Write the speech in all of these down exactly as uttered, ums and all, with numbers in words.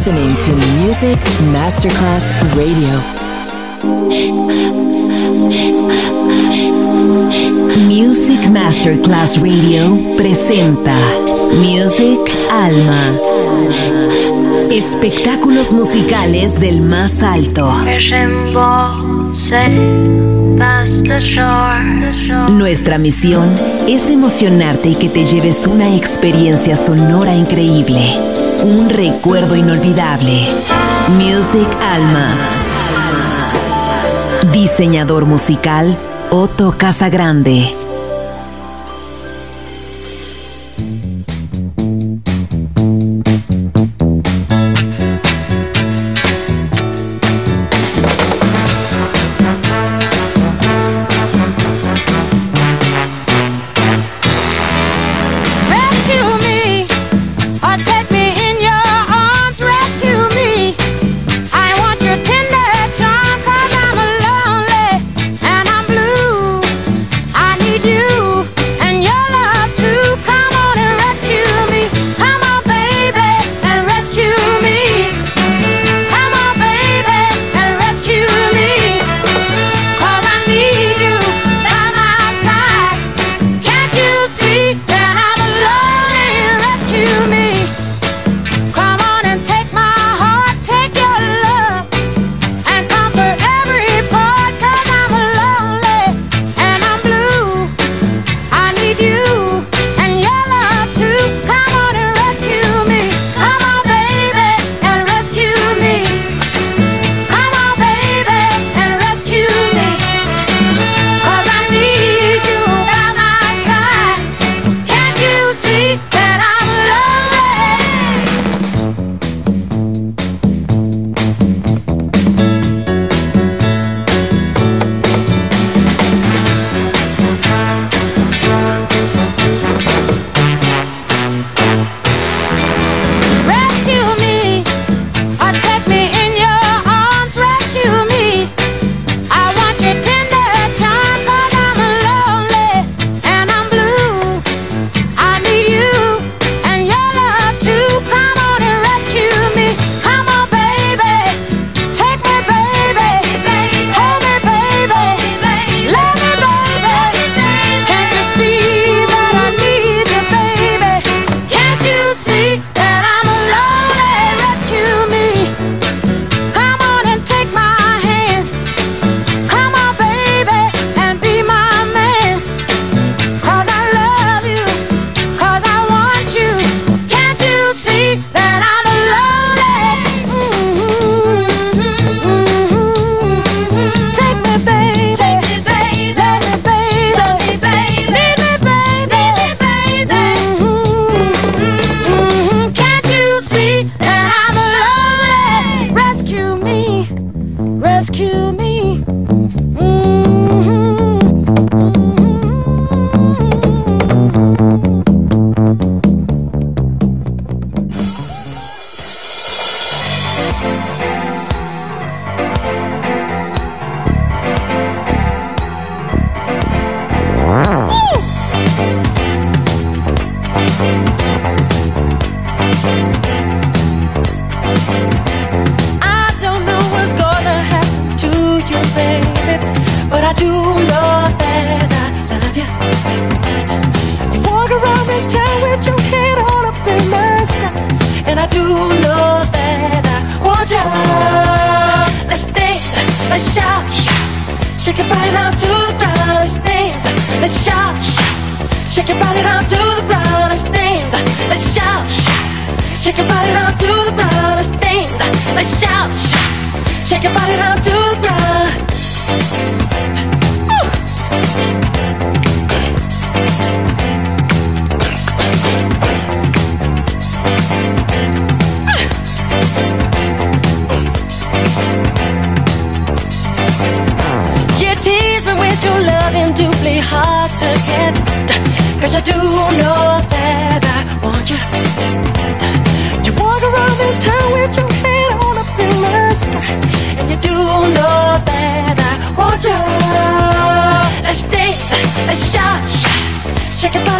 listening to Music Masterclass Radio. Music Masterclass Radio presenta Music Alma. Espectáculos musicales del más alto. Nuestra misión es emocionarte y que te lleves una experiencia sonora increíble, un recuerdo inolvidable. Music Alma. Diseñador musical Otto Casagrande.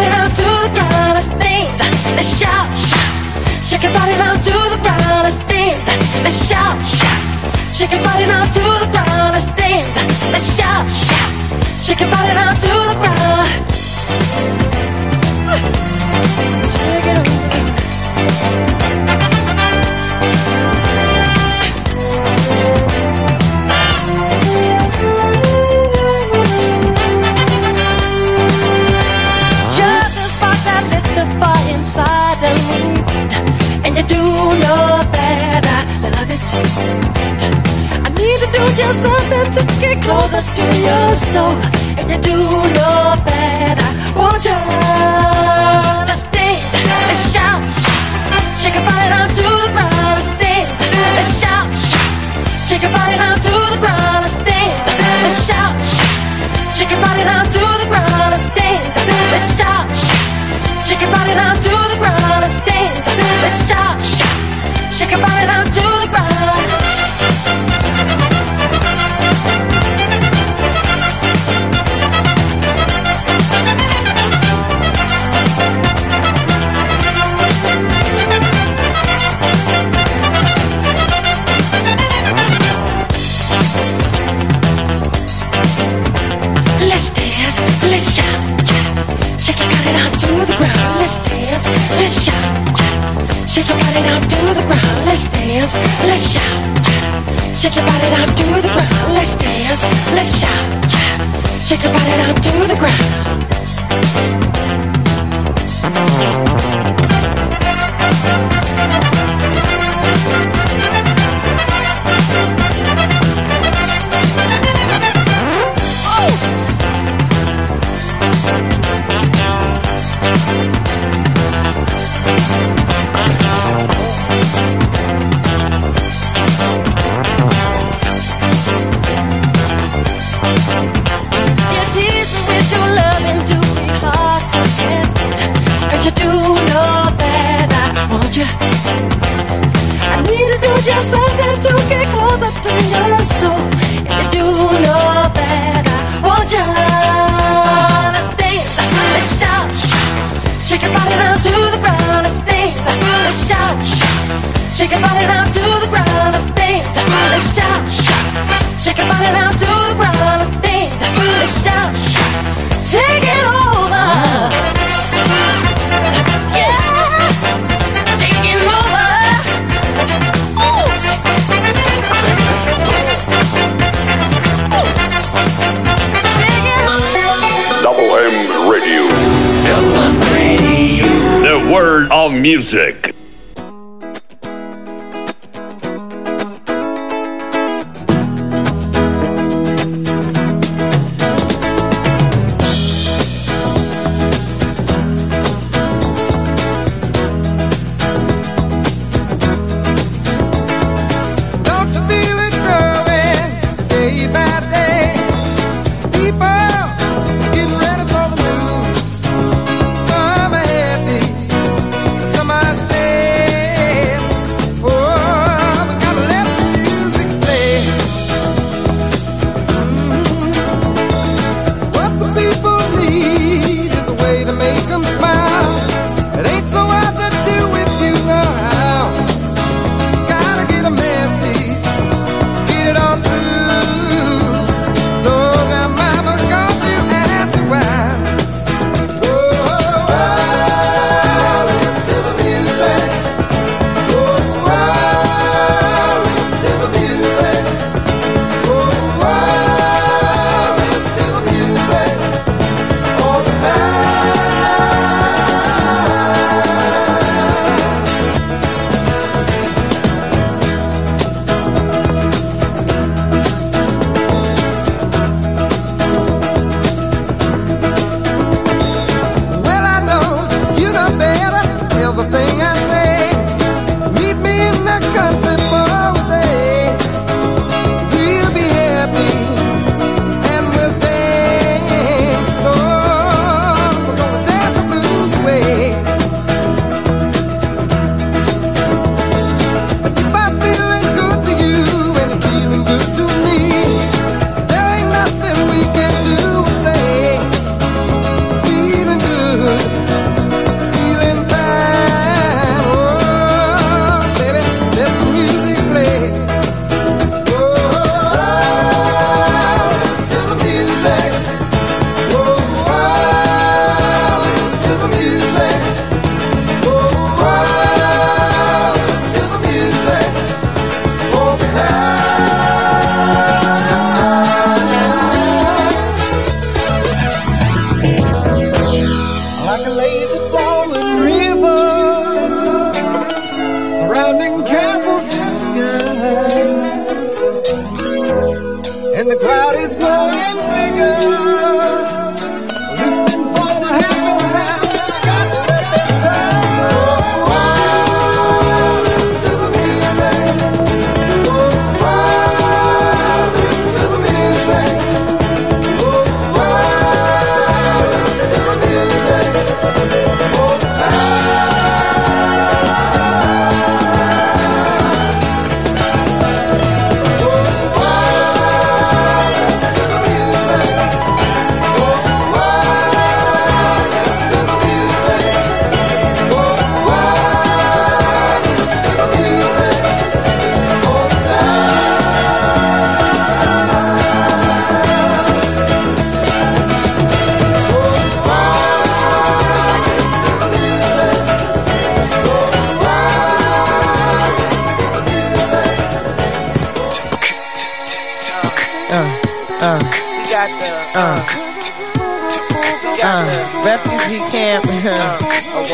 Shake your body down to the ground, let's dance. dance, let's shout, shout. Shake your body now to the ground, let's dance, let's shout, shout. Shake your body now to the ground. Shake it up. Just a spark that lit the fire inside of me, and you do know that I love it. I need to do just something to get closer to your soul, and you do know that I want you. Let's dance, let's shout, shake your body down to the ground. Let's dance, let's shout, shake your body down to the ground. Let's dance, let's shout, shake your body down to the ground. Let's dance, let's shout, shake your body down to the ground. Let's dance, let's shout, shake your body down to the ground. Let's dance, let's shout, shake your body down to the ground. Let's dance, let's shout, shake your body down to the ground. Let's dance, let's shout, shake your body down to the ground. Let's dance, let's shout, shake your body down to the ground. You tease me with your loving to be hard to get, 'cause you do know that I want you. I need to do just something to get closer to your soul, and you do know that I want you. Let's dance, let's shout, shake your body down to the ground. Let's dance, let's shout, shake your body down to the ground. Let's dance, let's shout, shake your body down to the ground. Let's dance, let's shout, take it over. Yeah, take it over. Ooh. Take it over. Double M Radio. Double M Radio. The word of music. Don't you feel it growing day by day? People getting ready for the move. Some are happy, some are sad.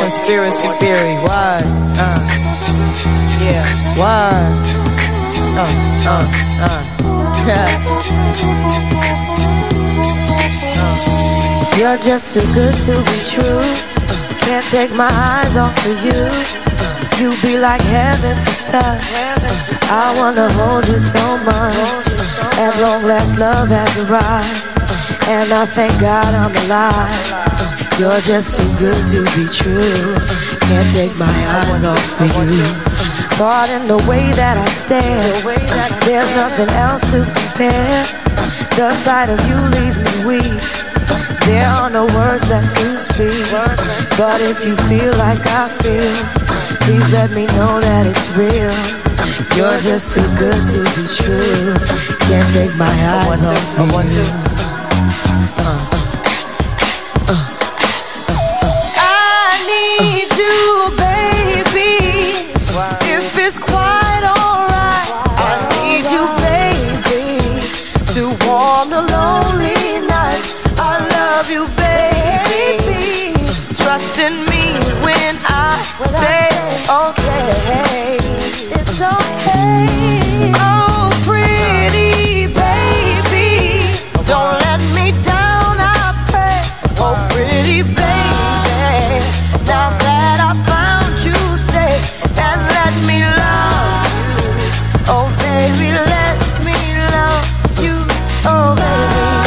conspiracy theory. Why? Uh, yeah. Why? Uh, uh, uh. You're just too good to be true. Can't take my eyes off of you. You be like heaven to touch. I wanna hold you so much. At long last, love has arrived, and I thank God I'm alive. You're just too good to be true. Can't take my eyes off of you. Caught in the way that I stare. There's nothing else to compare. The sight of you leaves me weak. There are no words left to speak. But if you feel like I feel, please let me know that it's real. You're just too good to be true. Can't take my eyes off of you. I need you, baby. If it's quite alright, I need you, baby, to warm the lonely night. I love you, baby. Trust in me when I say okay. It's okay. Oh, pretty baby, don't let me down, I pray. Oh, pretty baby, now that I found you, stay and let me love you. Oh, baby, let me love you. Oh, baby.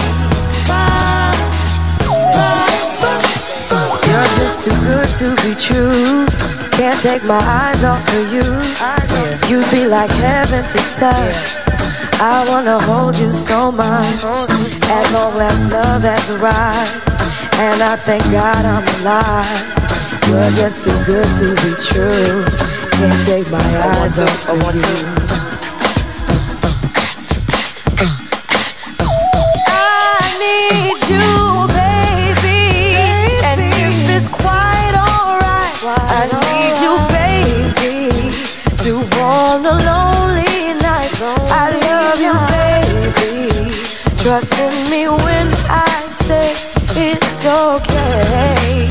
You're just too good to be true. Can't take my eyes off of you. You'd be like heaven to touch. I wanna hold you so much. At long last, love has arrived, and I thank God I'm alive. You're just too good to be true. Can't take my eyes off of you. I need you, baby, and if it's quite alright, I need you, baby, to warm the lonely night. I love you, baby. Trust in me when I say it's okay.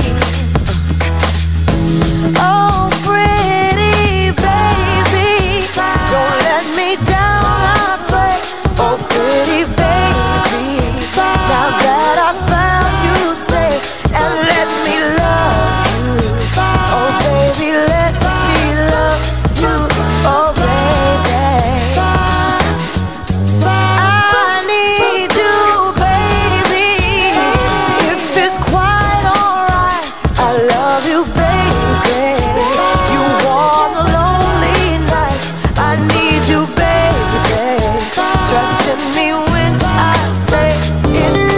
Oh, pretty baby, don't let me down, I pray. Oh, pretty baby, now that I found you, stay and let me love you. Oh, baby, let me love you. Oh, baby, I need you, baby. If it's quite alright, I love you, baby. You warm the lonely night. I need you, baby. Trust in me when I say it's.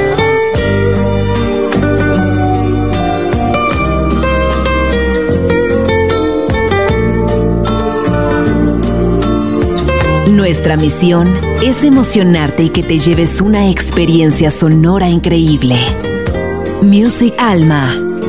Nuestra misión es emocionarte y que te lleves una experiencia sonora increíble. Music Alma.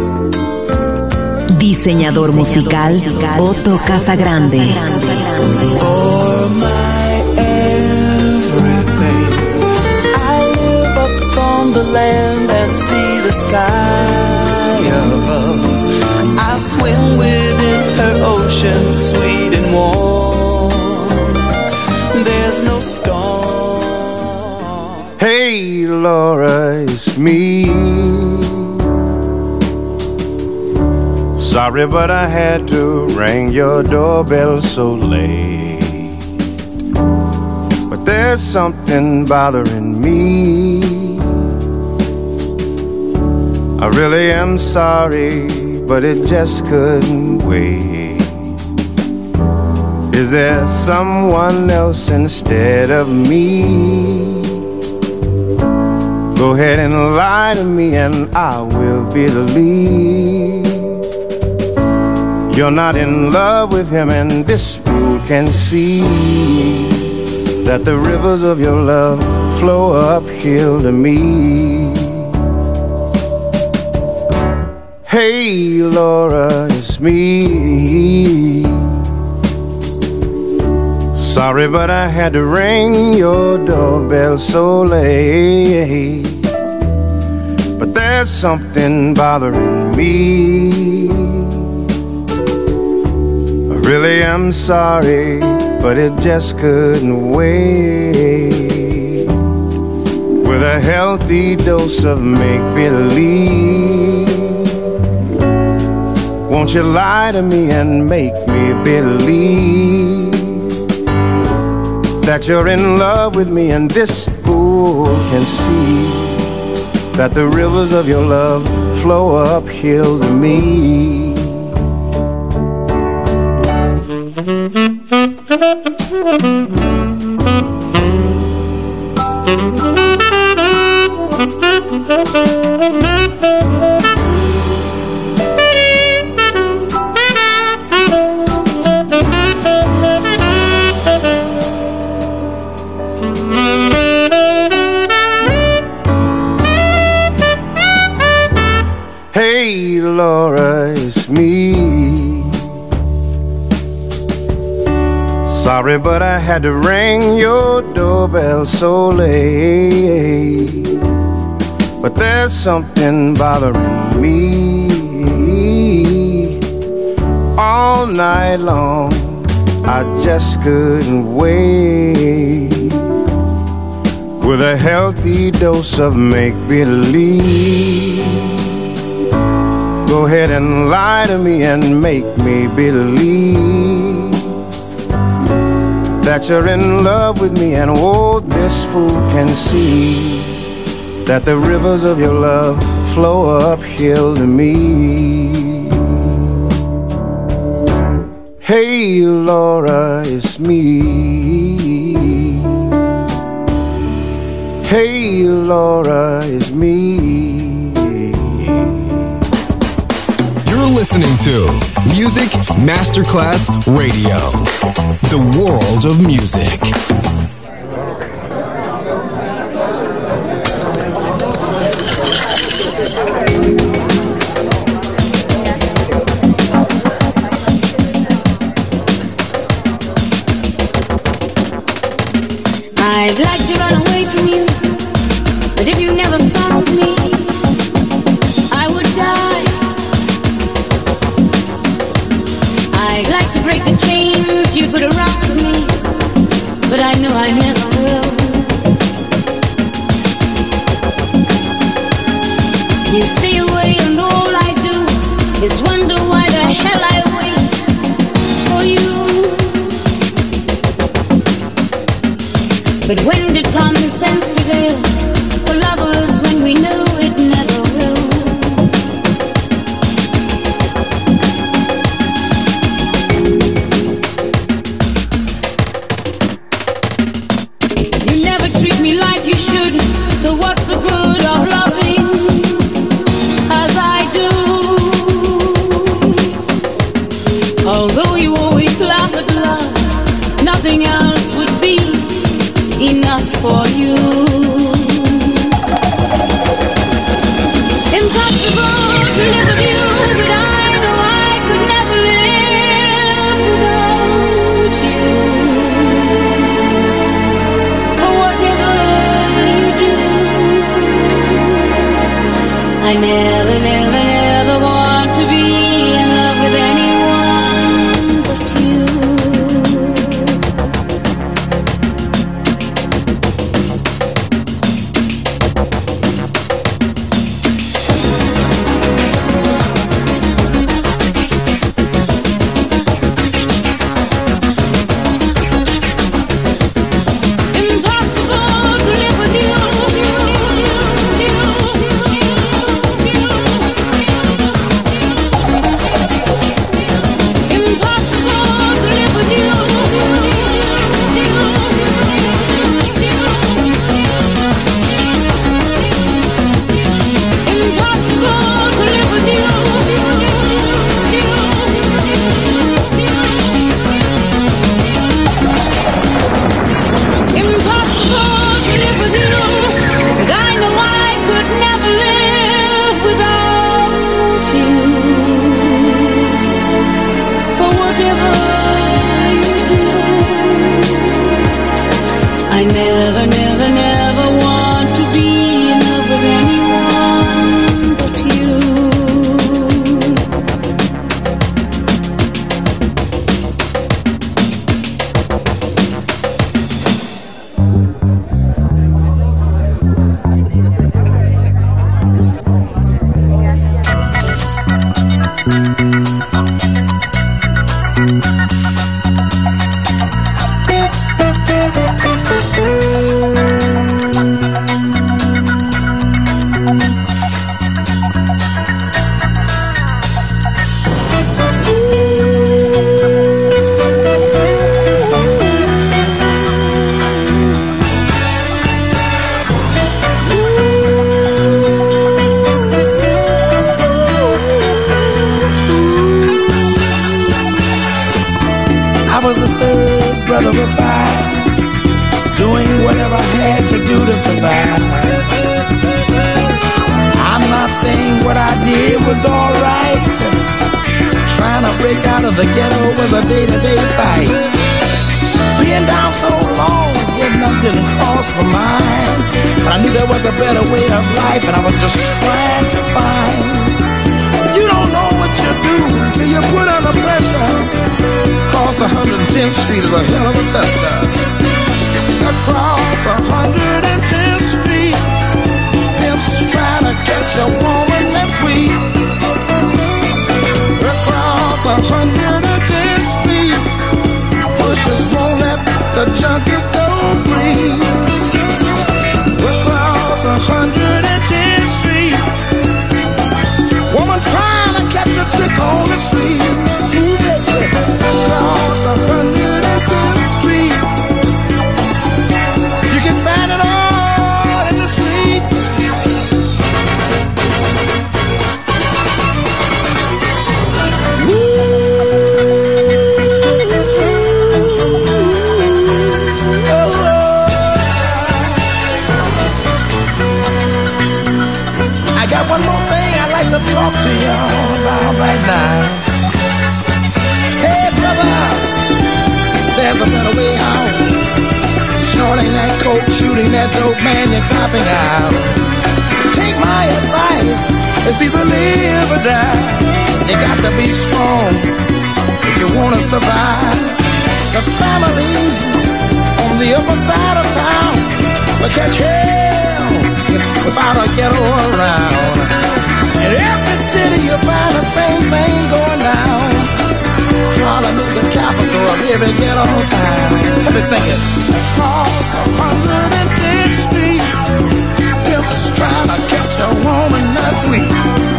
Diseñador musical Otto Casagrande. For my everything, I live up on the land and see the sky above. I swim within her ocean, sweet and warm. There's no storm. Hey, Laura, it's me. Sorry, but I had to ring your doorbell so late. But there's something bothering me. I really am sorry, but it just couldn't wait. Is there someone else instead of me? Go ahead and lie to me and I will believe. You're not in love with him, and this fool can see that the rivers of your love flow uphill to me. Hey, Laura, it's me. Sorry, but I had to ring your doorbell so late. But there's something bothering me. Really, I'm sorry, but it just couldn't wait. With a healthy dose of make-believe, won't you lie to me and make me believe that you're in love with me, and this fool can see that the rivers of your love flow uphill to me. Hey Laura, it's me. Sorry, but I had to ring your doorbell so late. But there's something bothering me. All night long, I just couldn't wait. With a healthy dose of make-believe, go ahead and lie to me and make me believe that you're in love with me, and oh, this fool can see that the rivers of your love flow uphill to me. Hey Laura, it's me. Hey Laura, it's me. You're listening to Music Masterclass Radio, the world of music. I'd like to run away from you, but if you never found me, I would die. I'd like to break the chains you put around me, but I know I never will. You stay away and all I do is wonder why the hell I wait for you. But when did common sense prevail for lovers when we knew it never will? You never treat me like you should, so what's the good of loving as I do? Although you always laugh at love, nothing else would be enough for you. Impossible to live with you, but I know I could never live without you. For whatever you do, I never, never, never want to be in love with anyone but you. Impossible to live with you. was the third brother of five, doing whatever I had to do to survive. I'm not saying what I did was alright. Trying to break out of the ghetto was a day-to-day fight. Being down so long, getting up didn't cross my mind. But I knew there was a better way of life, and I was just trying to find. You don't know what you do until you put under pressure. Across one hundred tenth Street is a hell of a tester. Across one hundred tenth Street, pimps trying to catch a woman that's weak. Across one hundred tenth Street, pushers won't let the junkie go free. Across one hundred tenth Street, woman trying to catch a trick on the street. Ooh, baby. Across one hundred tenth Street, you can find it all in the street. One more thing I'd like to talk to y'all about right now. Hey brother, there's a better way out. Shorting that coke, shooting that dope, man, you're copping out. Take my advice, it's either live or die. You got to be strong if you wanna survive. The family on the upper side of town will catch hell without a ghetto around. In every city you'll find the same thing going down. Harlem is the capital of every ghetto town. Let me sing it. Across one hundred tenth Street, pimps trying to catch a woman that's weak.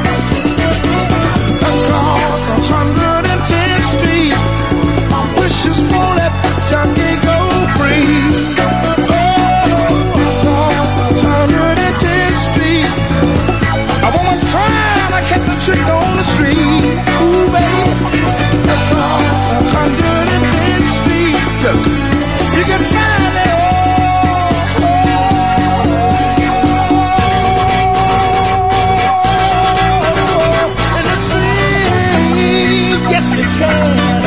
Across one hundred tenth Street, wishes won't let the junkie go free. A woman trying to catch a trick on the street. Ooh, baby. Across one hundred tenth Street, look, you can find it all. In the street, yes you can.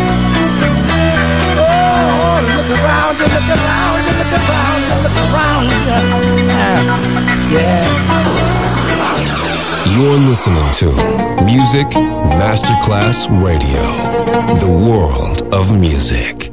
Oh, look around you, look around you, look around you, look around you. Yeah. You're listening to Music Masterclass Radio, the world of music.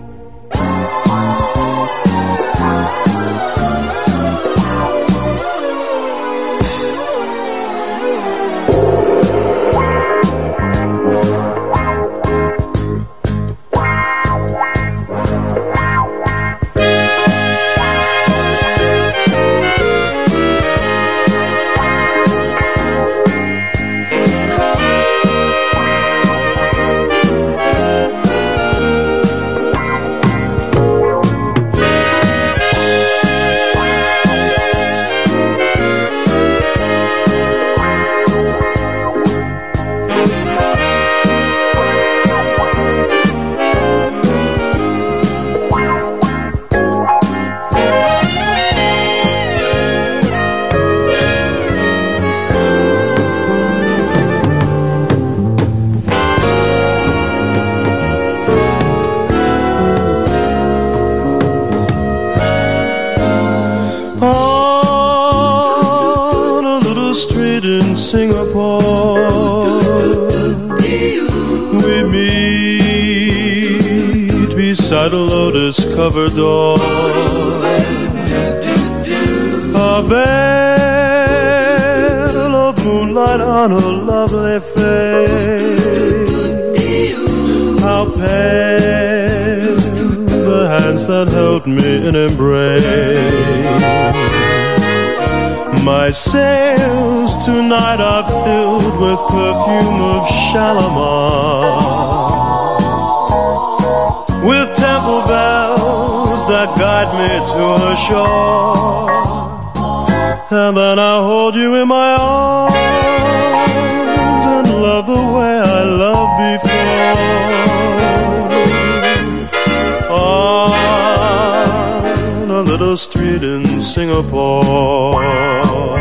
Beside a lotus-covered door, a veil of moonlight on her lovely face. How pale the hands that held me in embrace. My sails tonight are filled with perfume of Shalimar, with temple bells that guide me to the shore. And then I hold you in my arms and love the way I loved before. the street in Singapore.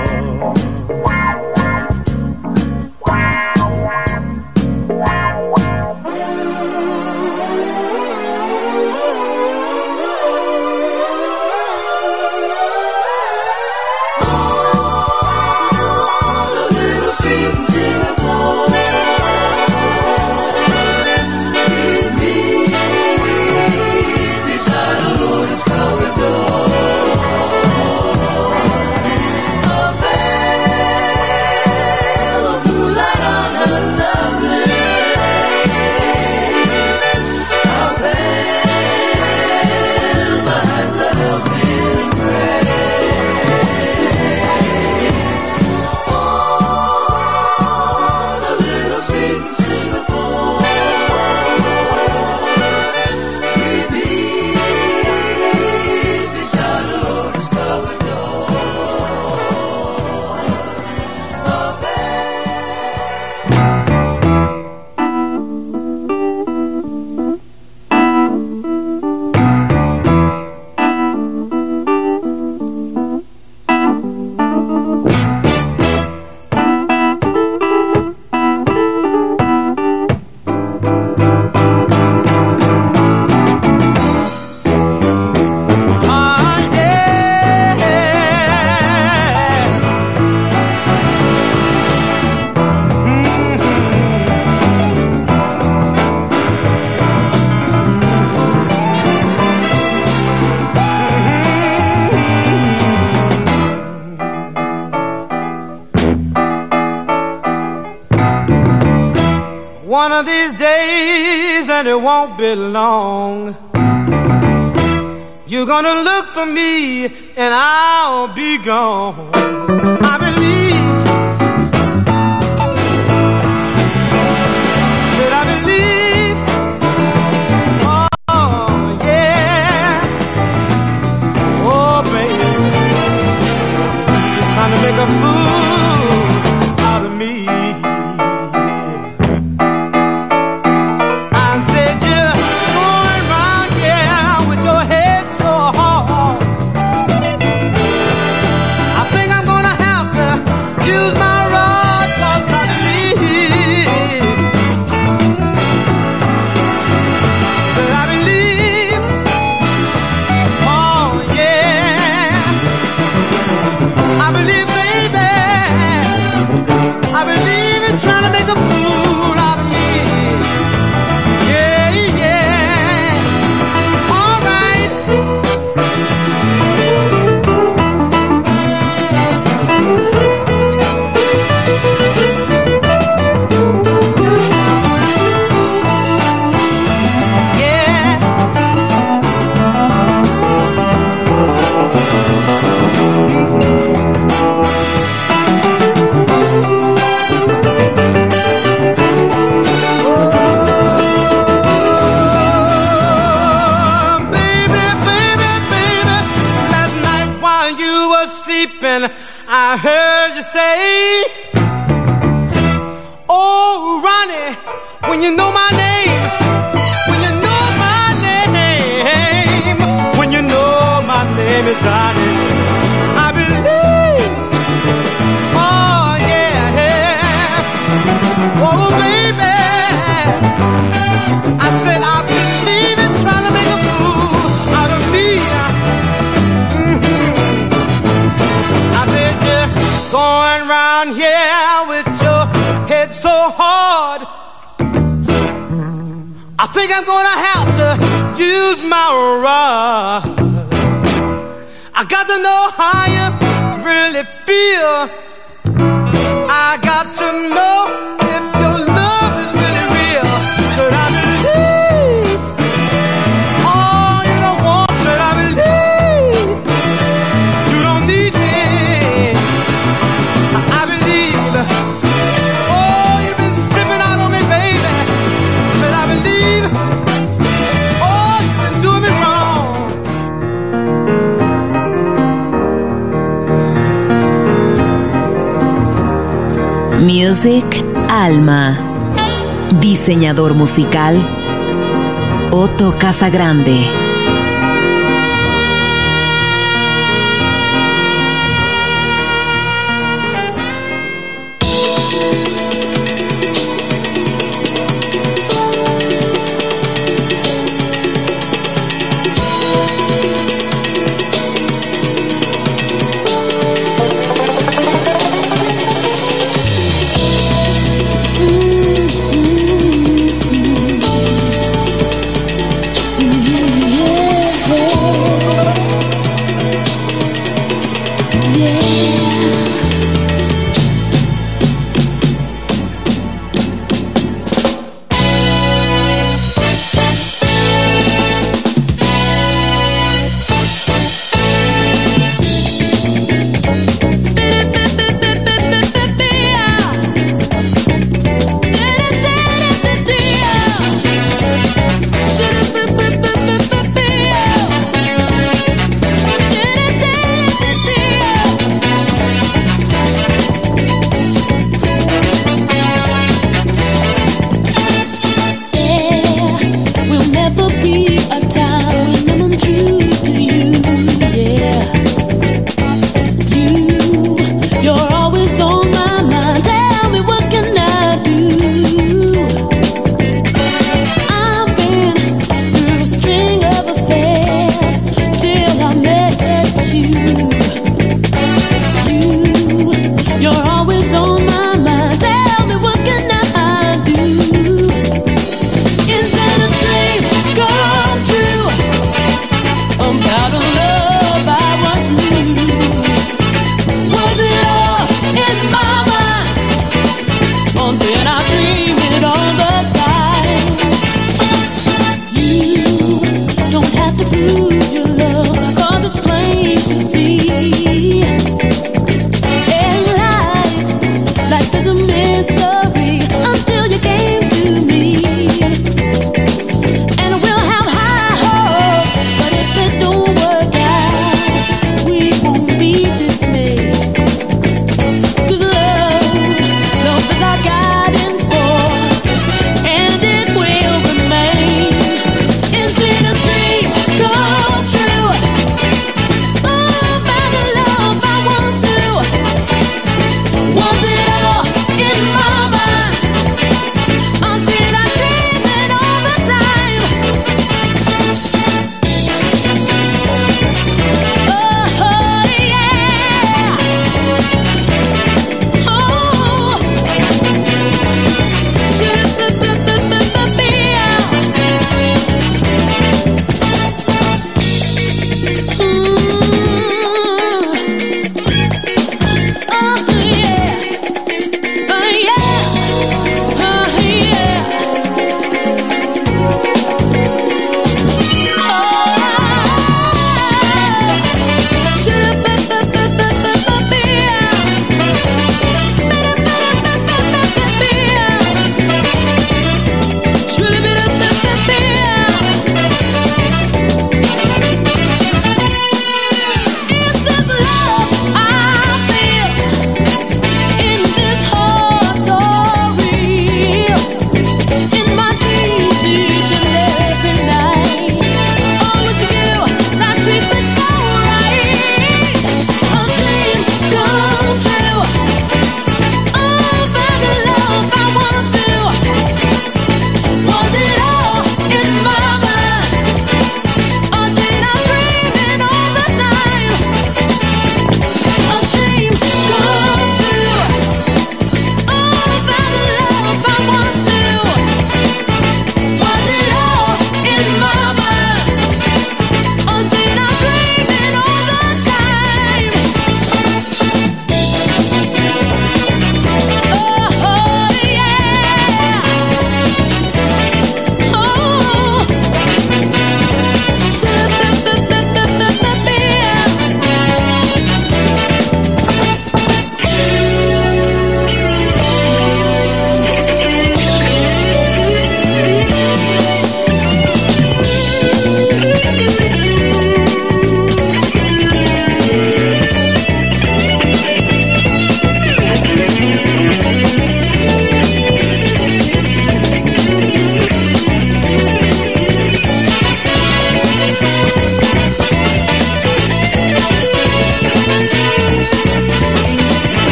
One of these days, and it won't be long, you're gonna look for me and I'll be gone. I believe, said I believe, oh yeah, oh baby, you're trying to make a fool out of me. I heard you say, oh Ronnie, when you know my name, when you know my name, when you know my name is Ronnie, I believe, oh yeah, yeah. Oh baby, I said I believe it, trying to make a fool out of me. Going round here with your head so hard, I think I'm gonna have to use my rod. I got to know how you really feel. I got to know if your love is really real. Should I believe all you don't want? Should I believe you don't need me? I believe, oh, you've been slipping out on me, baby. Should I believe, oh, you've been doing me wrong. Music Alma. Diseñador musical Otto Casagrande.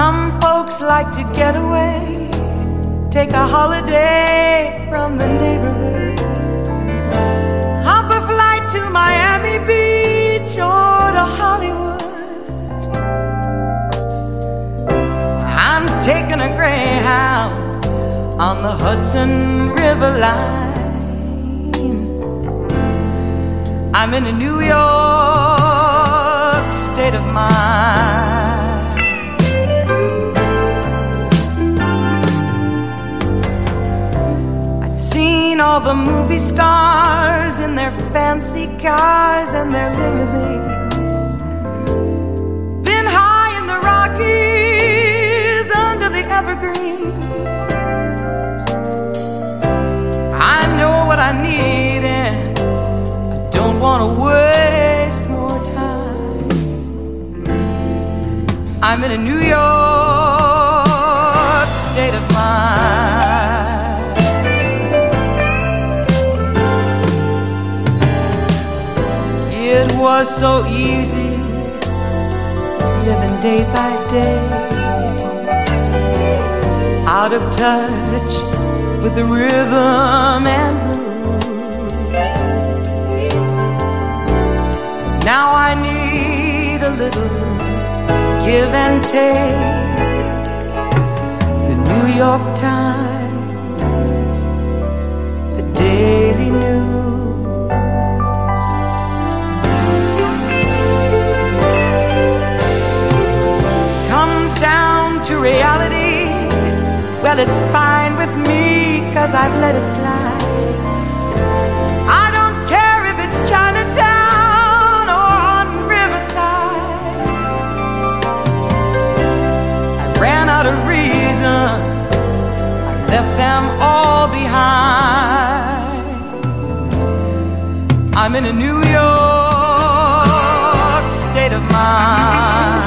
Some folks like to get away, take a holiday from the neighborhood, hop a flight to Miami Beach or to Hollywood. I'm taking a Greyhound on the Hudson River line. I'm in a New York state of mind. I've seen all the movie stars in their fancy cars and their limousines, been high in the Rockies under the evergreens. I know what I need and I don't want to waste more time. I'm in a New York state of mind. It was so easy living day by day, out of touch with the rhythm and blues. Now I need a little give and take. The New York Times, the Daily News. Comes down to reality, well, it's fine with me, 'cause I've let it slide. I don't care if it's Chinatown or on Riverside. I ran out of reasons, I left them all behind. I'm in a New York state of mind.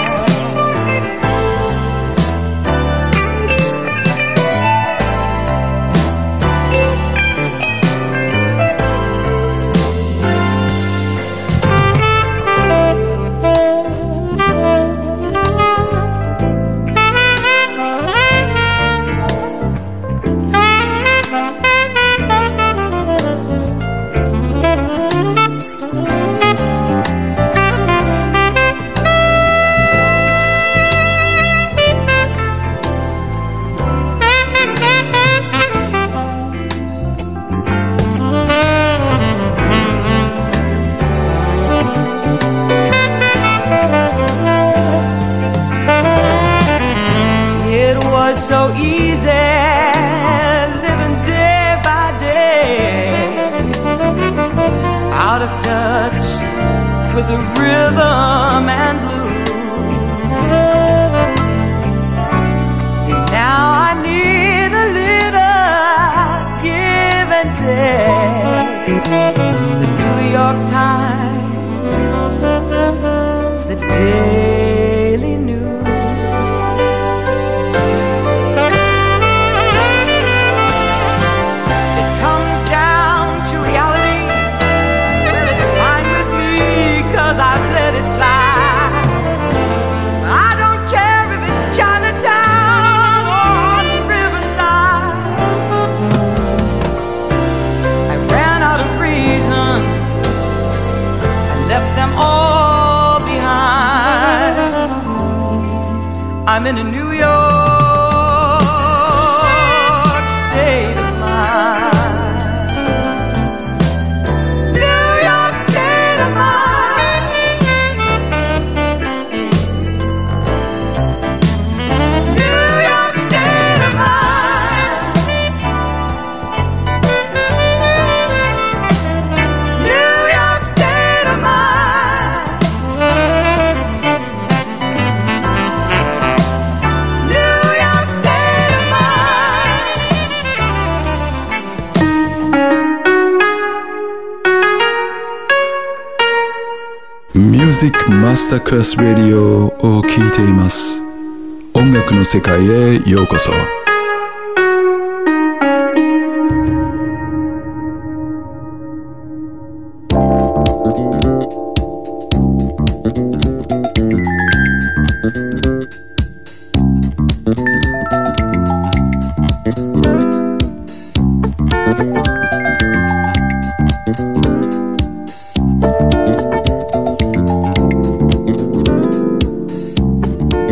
So easy living day by day, out of touch with the rhythm and blues. Now I need a little give and take. The New York Times, the Daily News. I've let it slide. I don't care if it's Chinatown or on Riverside. I ran out of reasons, I left them all behind. I'm in a New York state of mind. Music Masterclass Radio を聴いています。音楽の世界へようこそ。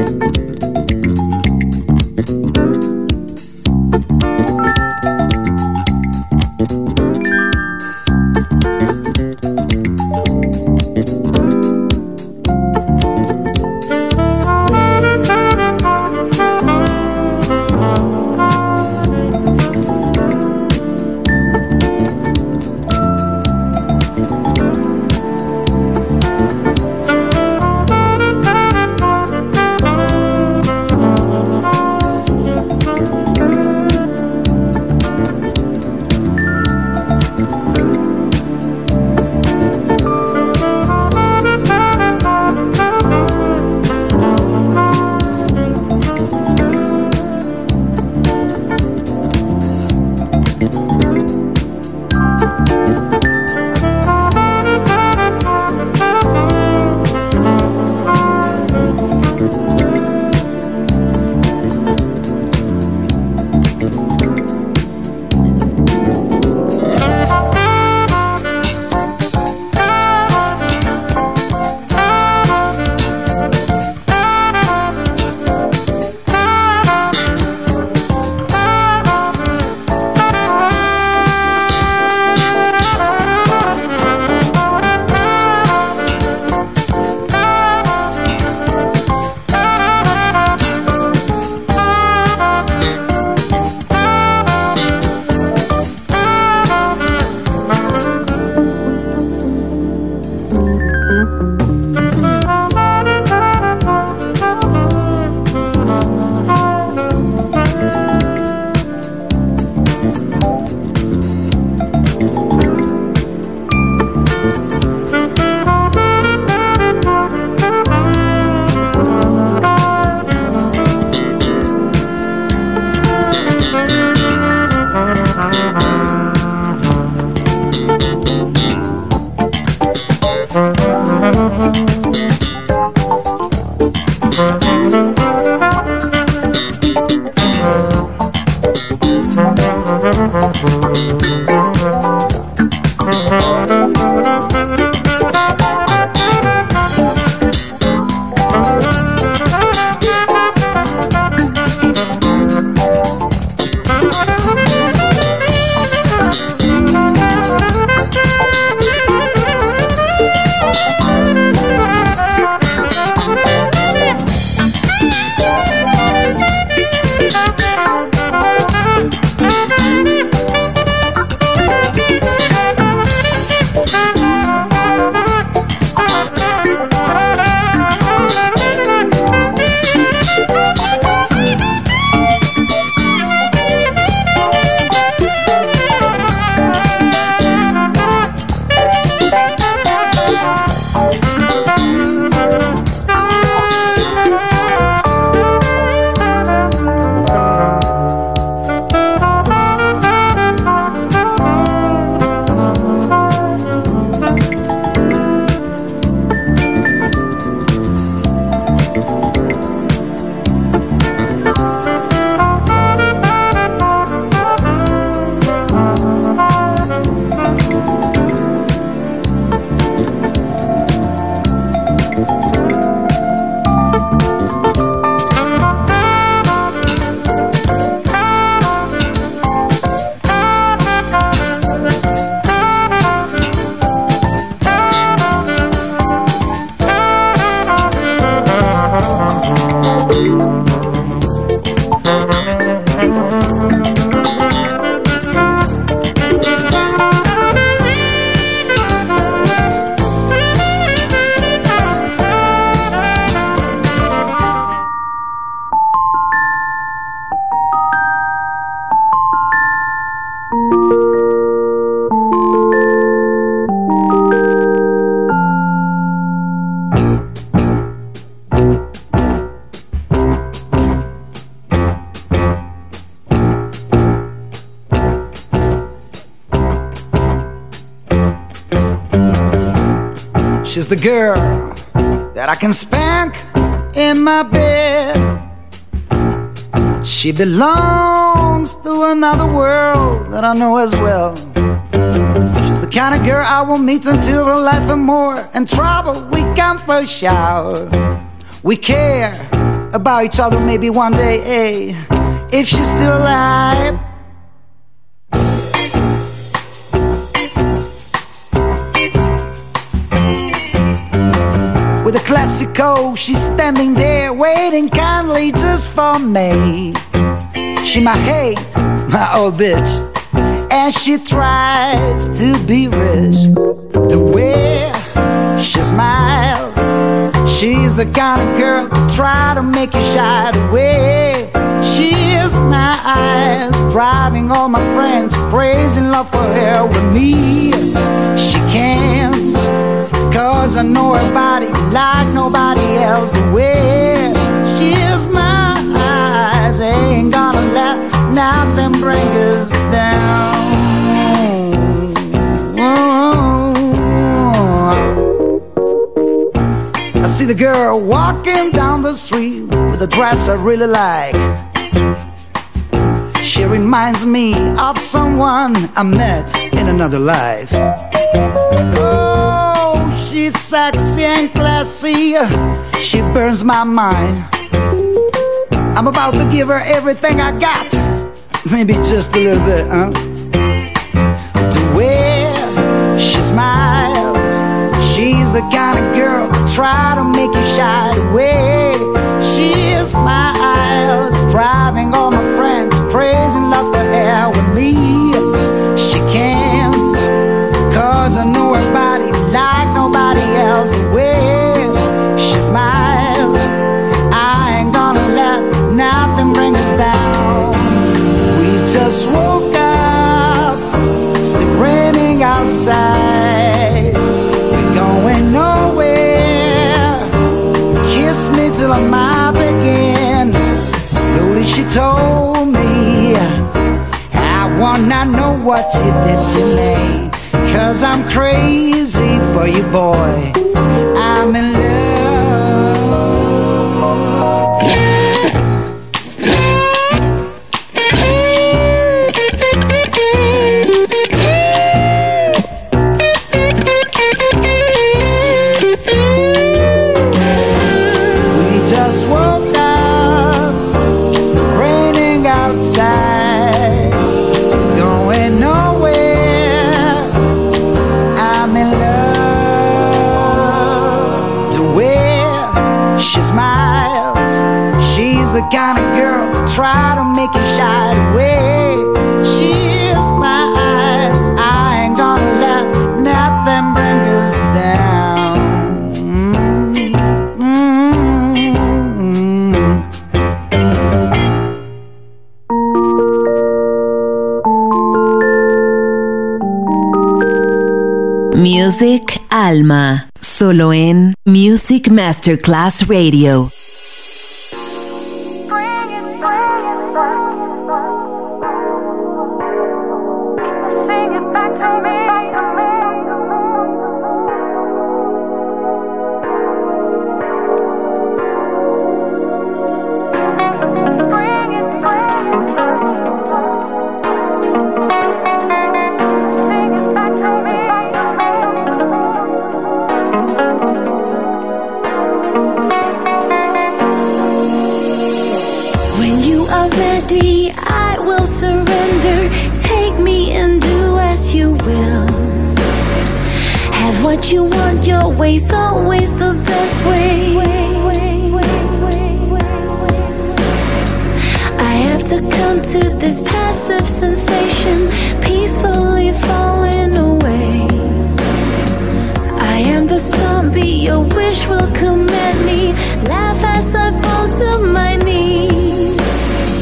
She's the girl that I can spank in my bed. She belongs to another world that I know as well. She's the kind of girl I will meet until her life and more. And trouble we come for a shower. We care about each other maybe one day, hey, if she's still alive. With a classical, she's standing there waiting kindly just for me. She might hate my old bitch, and she tries to be rich. The way she smiles, she's the kind of girl that try to make you shy away. She is my eyes, driving all my friends crazy in love for her with me. She can, cause I know her body like nobody else. The way she is my eyes, ain't gonna let nothing bring us down. I see the girl walking down the street with a dress I really like. She reminds me of someone I met in another life. Oh, she's sexy and classy, she burns my mind. I'm about to give her everything I got, maybe just a little bit, huh? The way she smiles, she's the kind of girl that try to make you shy away. She is my eyes, driving all my friends crazy in love for her with me. She can, cause I know her body like nobody else. The way she smiles, I ain't gonna let nothing bring us down. We just woke up, it's still raining outside. We're going nowhere, kiss me till I'm up again. Slowly she told me, I wanna know what you did to me, cause I'm crazy for you, boy, I'm in love. The kind of girl that try to make you shy away. She is my eyes, I ain't gonna let nothing bring us down. Mm-hmm. Music Alma, solo en Music Masterclass Radio. What you want, your way's always the best way. I have to come to this passive sensation, peacefully falling away. I am the zombie, your wish will command me. Laugh as I fall to my knees.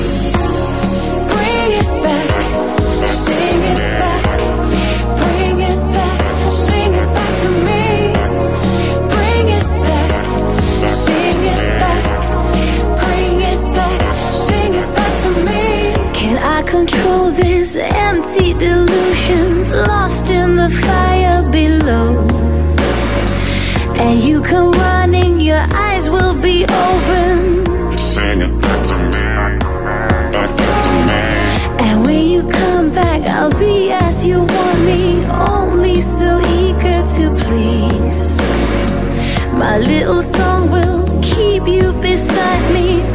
Bring it back, sing it back. Bring it back, sing it back to me. Bring it back, sing it back. Bring it back, sing it back to me. Can I control this empty delusion, lost in the fire below? And you come running, your eyes will be open. Sing it back to me, back, back to me. And when you come back, I'll be as you want me, only so eager to please. My little song will keep you beside me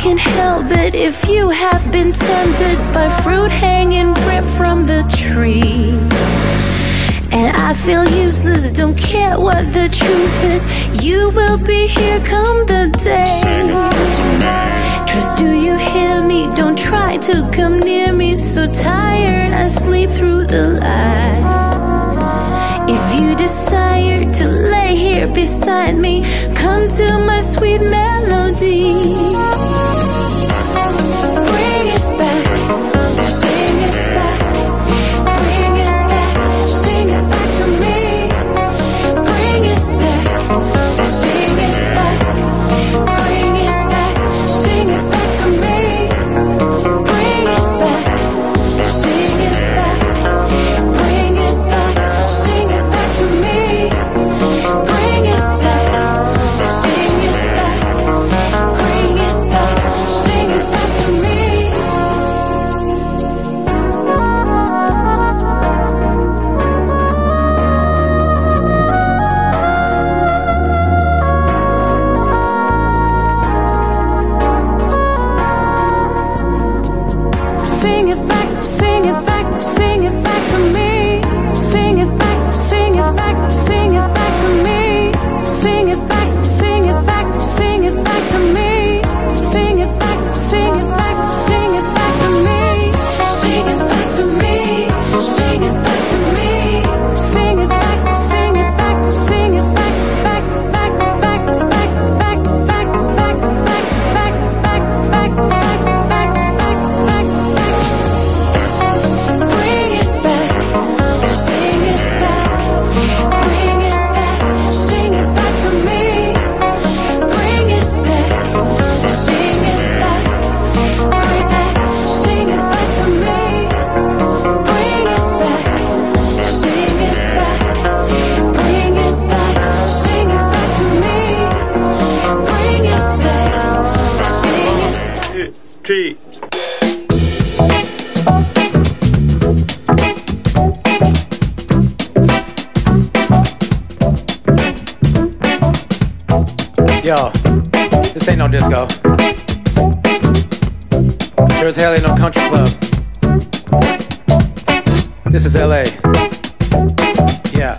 can't help it if you have been tempted by fruit hanging ripped from the tree. And I feel useless, don't care what the truth is. You will be here come the day. Trust, do you hear me? Don't try to come near me. So tired, I sleep through the light. If you desire to lay here beside me, come to my sweet melody. Bring it back, sing it back. Bring it back, sing it back to me. Bring it back, sing it back. Bring it back, sing it back to me. Bring it back, sing it back. Bring it back, sing it back to me. Bring it back, sing it back. Bring it back, sing it back to me. Sing it back, sing it back, sing it back to me. Sing it back, sing it back, sing it back to me. Sing it back, sing it back, sing it back to me. Sing it back, sing it back, sing it back to me. Sing it back to me. Sing it back to me. Sing it back, sing it back, sing it back, back, back, back, back, back, back, back, back, back, back, back, back, back, back, back. Bring it back, sing it back. Bring it back, sing it back to me. Bring it back, sing it back. Bring it back, sing it back to me. Bring it back, sing it back. Bring it back, sing it back to me. Bring it back, sing it. Two, three. Yo, this ain't no disco. Sure as hell ain't no country club. This is L A. Yeah.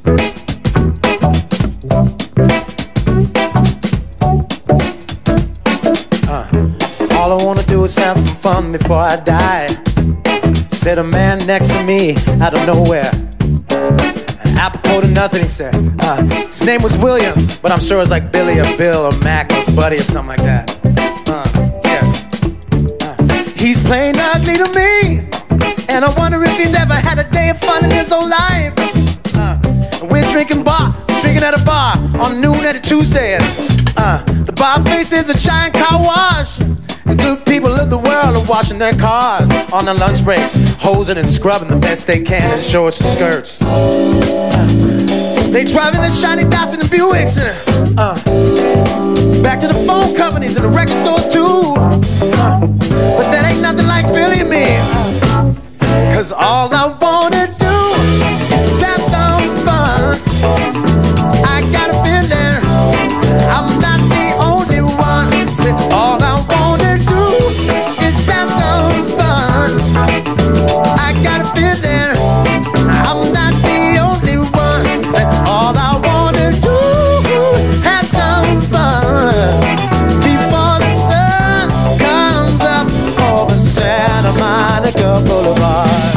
Uh, all I wanna do is have some fun before I die. Said a man next to me out of nowhere. Apropos to nothing, he said. Uh, his name was William, but I'm sure it's like Billy or Bill or Mac or Buddy or something like that. Uh, yeah. Uh, he's plain ugly to me, and I wonder if he's ever had a day of fun in his whole life. Uh, and we're drinking bar, drinking at a bar on noon at a Tuesday. And, uh, the bar faces a giant car wash. The good people of the world are washing their cars on their lunch breaks, hosing and scrubbing the best they can in shorts and skirts. Uh, they driving the shiny Datsun and Buicks and uh, back to the phone companies and the record stores too. Uh, but that ain't nothing like Billy and me. Cause all I wanna do is have some fun. I got a feeling I'm not the only one. Say all I wanna do is have some fun. I got a feeling I'm not the only one. Say all I wanna do have some fun before the sun comes up over Santa Monica Boulevard.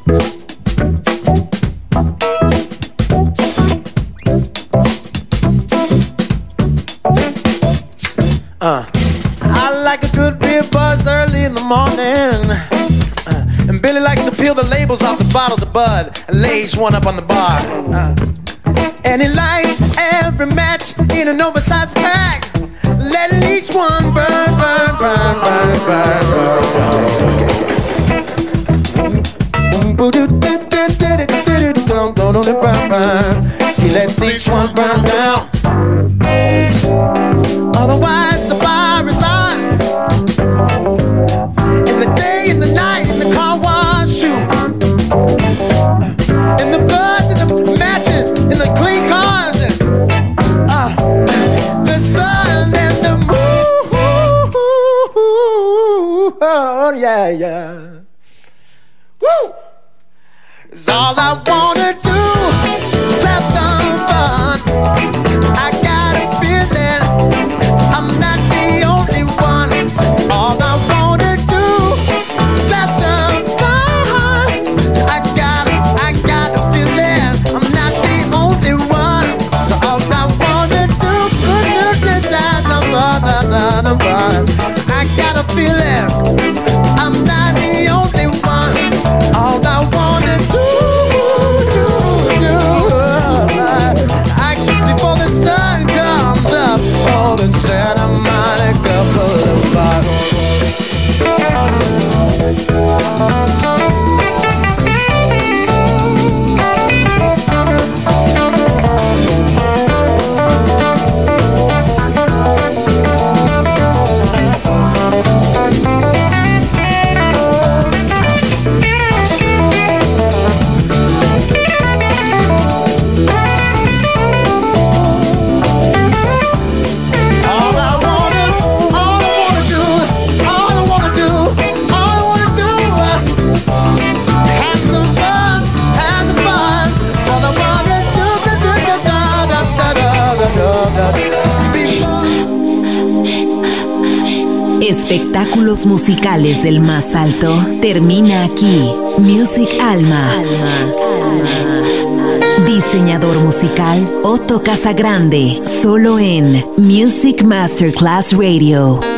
Uh, I like a good beer buzz early in the morning. Uh, and Billy likes to peel the labels off the bottles of Bud and lay each one up on the bar. Uh, and he lights every match in an oversized pack, letting each one burn, burn, burn, burn, burn, burn, burn. He lets each one burn down. Otherwise the bar is ours. In the day, in the night, in the car wash shoe. In the buds, in the matches, in the clean cars. Uh, the sun and the moon. a feeling. I'm not the only one. All I wanna do, do, do, I, before the sun comes up, oh, the Santa Monica Boulevard. Espectáculos musicales del más alto termina aquí. Music Alma. Diseñador musical Otto Casagrande, solo en Music Masterclass Radio.